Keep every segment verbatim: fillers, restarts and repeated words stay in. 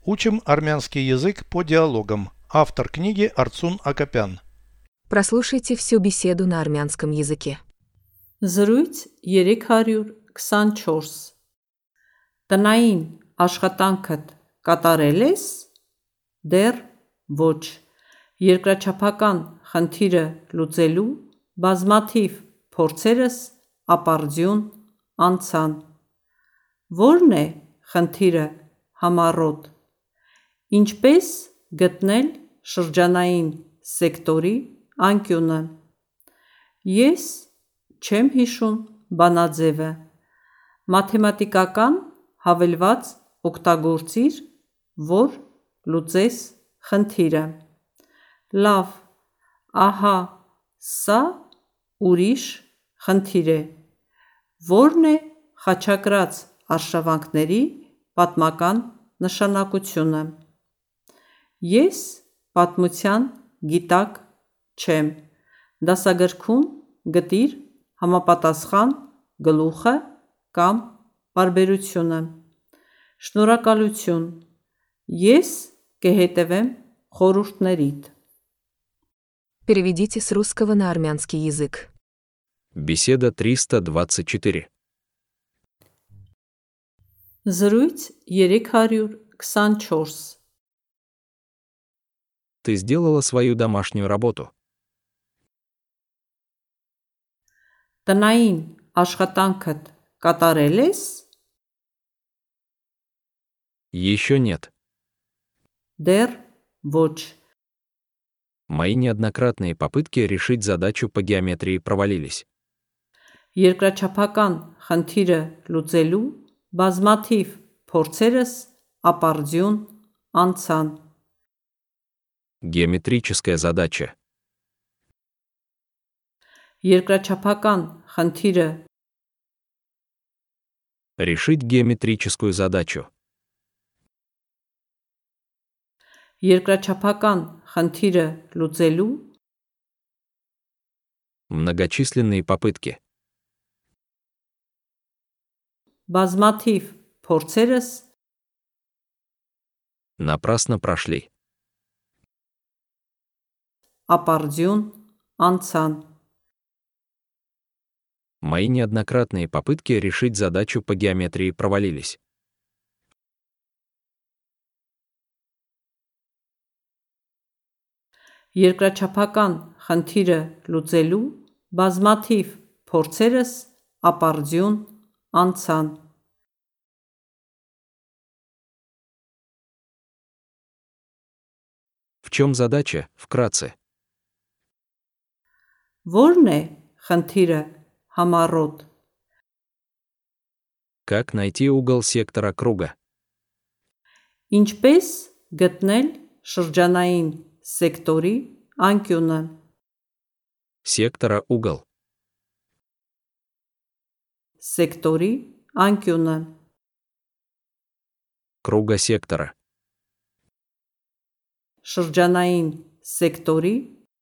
Учим армянский язык по диалогам. Автор книги Арцун Акопян. Прослушайте всю беседу на армянском языке. Զրույց երեք հարյուր քսանչորս Տնային աշխատանքդ կատարել ես? Դեռ ոչ։ Երկրաչափական խնդիրը լուծելու բազմաթիվ փորձերս ապարդյուն անցան։ Ո՞րն է խնդիրը համառոտ։ Ինչպես գտնել շրջանային սեկտորի անկյունը։ Ես չեմ հիշում բանաձևը։ Մաթեմատիկական հավելված օգտագործիր, որ լուծես խնդիրը։ Լավ, ահա սա ուրիշ խնդիր է։ Ո՞րն է խաչակրաց արշավանքների պատմական նշանակությունը։ Ես պատմության գիտակ չեմ։ Դասագրքում գտիր համապատասխան գլուխը կամ պարբերությունը։ Շնորհակալություն։ Ես կհետևեմ խորհուրդներիդ։ Переведите с русского на армянский язык. Беседа триста двадцать четыре. Զրույց երեք հարյուր քսանչորս Ты сделала свою домашнюю работу. Տնային աշխատանքդ կատարել ես? Еще нет. Դեռ ոչ։ Мои неоднократные попытки решить задачу по геометрии провалились. Երկրաչափական խնդիրը լուծելու բազմաթիվ փորձերս ապարդյուն անցան։ Геометрическая задача. Երկրաչափական խնդիրը Решить геометрическую задачу. Երկրաչափական խնդիրը լուծելու Многочисленные попытки. բազմաթիվ փորձերս Напрасно прошли. ապարդյուն անցան։ Мои неоднократные попытки решить задачу по геометрии провалились. Երկրաչափական խնդիրը լուծելու բազմաթիվ փորձերս ապարդյուն անցան։ В чем задача, вкратце? Ո՞րն է խնդիրը համառոտ։ Как найти угол сектора круга? Ինչպես գտնել շրջանային սեկտորի անկյունը։ Сектора угол. Սեկտորի անկյունը։ Круга сектора. Շրջանային սեկտորի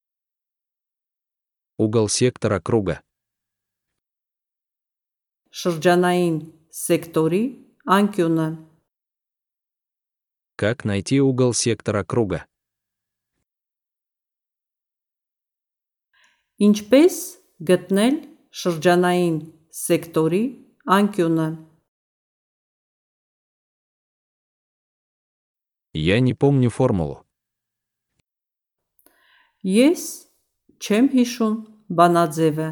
Угол сектора круга. շրջանային սեկտորի անկյունը։ Как найти угол сектора круга? Ինչպես գտնել շրջանային սեկտորի անկյունը։ Я не помню формулу. Ես չեմ հիշում բանաձևը։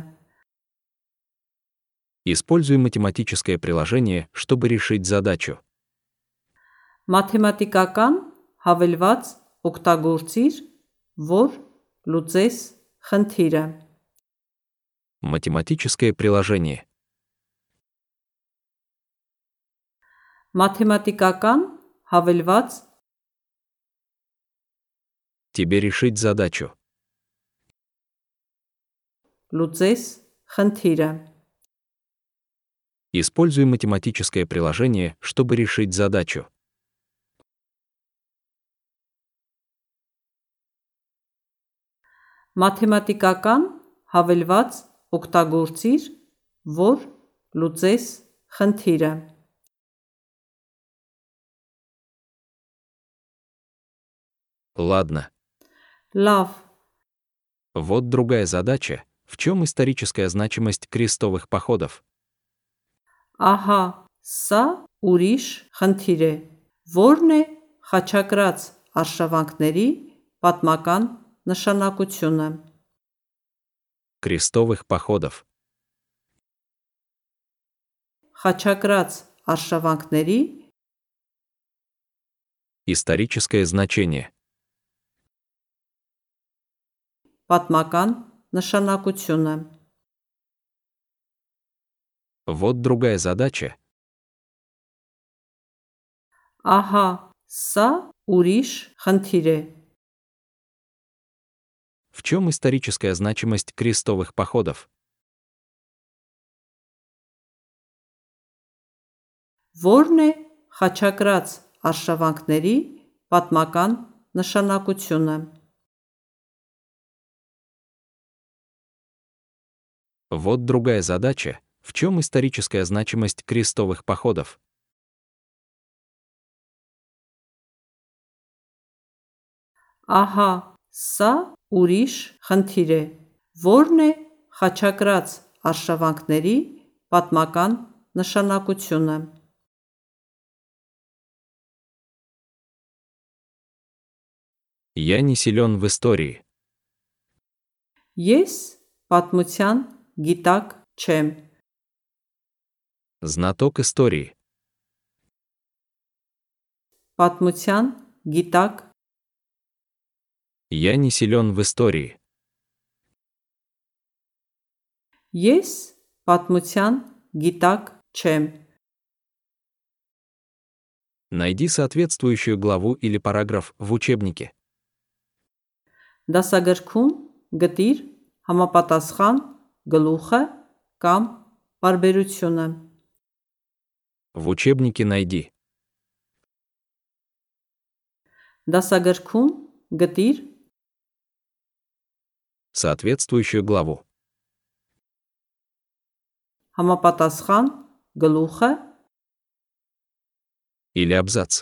Используй математическое приложение, чтобы решить задачу. Մաթեմատիկական հավելված օգտագործիր, որ լուծես խնդիրը։ Математическое приложение. Մաթեմատիկական հավելված Тебе решить задачу. լուծես խնդիրը։ Используй математическое приложение, чтобы решить задачу. Մաթեմատիկական հավելված օգտագործիր, որ լուծես խնդիրը։ Ладно. Լավ, Вот другая задача. В чем историческая значимость крестовых походов? ահա, սա ուրիշ խնդիր է։ Որն է խաչակրաց արշավանքների պատմական նշանակությունը։ Крестовых походов. Խաչակրաց արշավանքների Историческое значение. պատմական նշանակությունը։ Вот другая задача. Ահա, սա ուրիշ խնդիր է։ В чем историческая значимость крестовых походов? Որն է խաչակրաց արշավանքների պատմական նշանակությունը։ Вот другая задача. В чем историческая значимость крестовых походов? Ահա, սա ուրիշ խնդիր է։ Որն է խաչակրաց արշավանքների պատմական նշանակությունը։ Я не силен в истории. Ես պատմության գիտակ չեմ։ Знаток истории. Պատմության գիտակ Я не силен в истории. Ես պատմության գիտակ չեմ։ Найди соответствующую главу или параграф в учебнике. Դասագրքում գտիր համապատասխան գլուխը կամ պարբերությունը։ В учебнике найди. Դասագրքում գտիր Соответствующую главу. համապատասխան գլուխը Или абзац.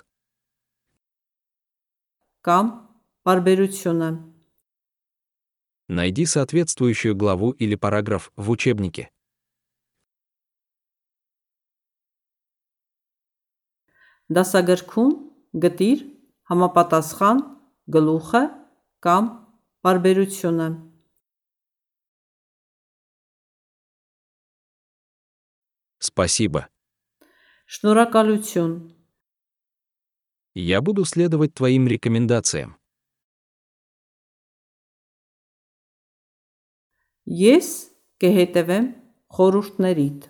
կամ պարբերությունը։ Найди соответствующую главу или параграф в учебнике. Դասագրքում գտիր համապատասխան գլուխը կամ պարբերությունը։ Спасибо. Շնորհակալություն։ Я буду следовать твоим рекомендациям. Ես կհետևեմ խորհուրդներիդ։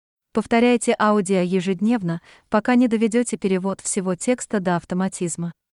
Повторяйте аудио ежедневно, пока не доведете перевод всего текста до автоматизма.